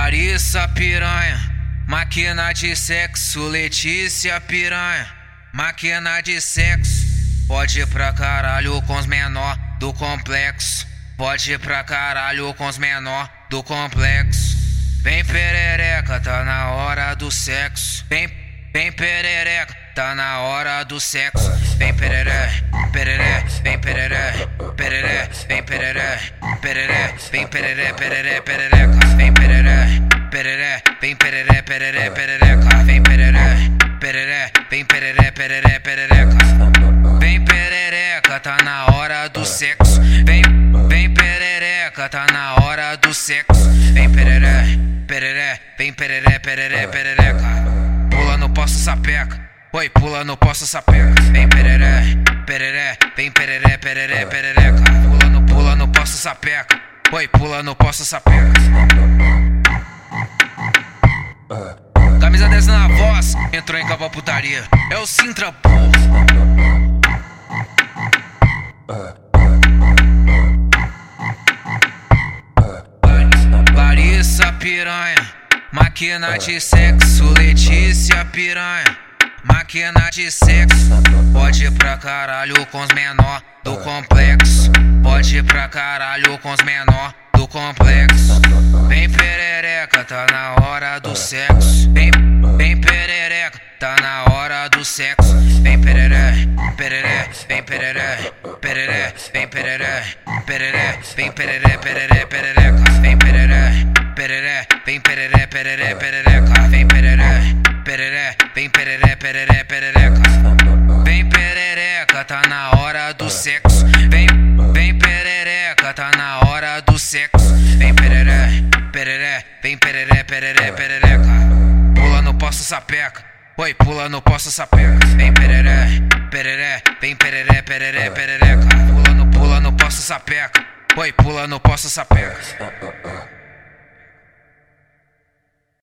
Larissa piranha, máquina de sexo. Letícia piranha, máquina de sexo. Pode ir pra caralho com os menor do complexo. Pode ir pra caralho com os menor do complexo. Vem perereca, tá na hora do sexo. Vem perereca, tá na hora do sexo. Vem pereré, pereré, vem pereré, pereré, vem pereré, pereré, vem pereré, pereré, perereca. Vem pereré, pereré, vem pereré, pereré, perereca. Vem pereré, pereré, vem pereré, pereré, perereca. Vem perereca, tá na hora do sexo. Vem perereca, tá na hora do sexo. Vem pereré, pereré, vem pereré, pereré, perereca. Pula no poço sapeca, oi, pula no poço sapeca. Vem pereré, pereré, vem pereré, pereré, perereca. Pula no poço sapeca, oi, pula no poço sapeca. Camisa 10 na voz, entrou em capa putaria. É o Sintra, porra. Larissa piranha, máquina de sexo. Letícia piranha, máquina de sexo. Pode ir pra caralho com os menor do complexo. Pode ir pra caralho com os menor do complexo. Vem perereca, tá na hora do sexo. Vem perereca, tá na hora do sexo. Vem pereré, pereré, vem pereré, pereré, vem pereré, pereré, vem pereré, pereré, perereca. Vem pereré, pereré, vem pereré, pereré, perereca. Vem pereré, pereré, vem pereré, pereré, perereca. Vem perereca, tá na hora do sexo. Vem perereca, tá na hora do sexo. Vem pereré, pereré, vem pereré, pereré, perereca. Pula no poço sapeca, oi, pula no poço sapeca. Vem pereré, pereré, vem pereré, pereré, perereca. Pula no poço sapeca, oi, pula no poço sapeca.